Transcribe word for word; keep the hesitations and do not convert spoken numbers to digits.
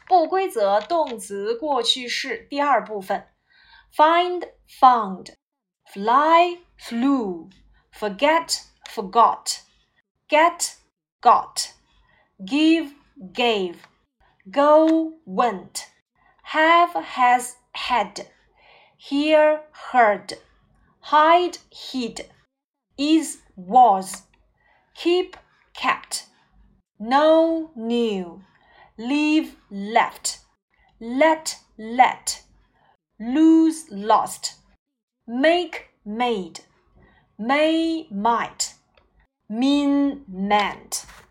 不规则动词过去式第二部分 Find, found Fly, flew Forget, forgot Get, got Give, gave Go, went Have, has, had Hear, heard Hide, hid Is, was Keep, kept Know, knew Leave, left Let, let Lose, lost Make, made May, might Mean, meant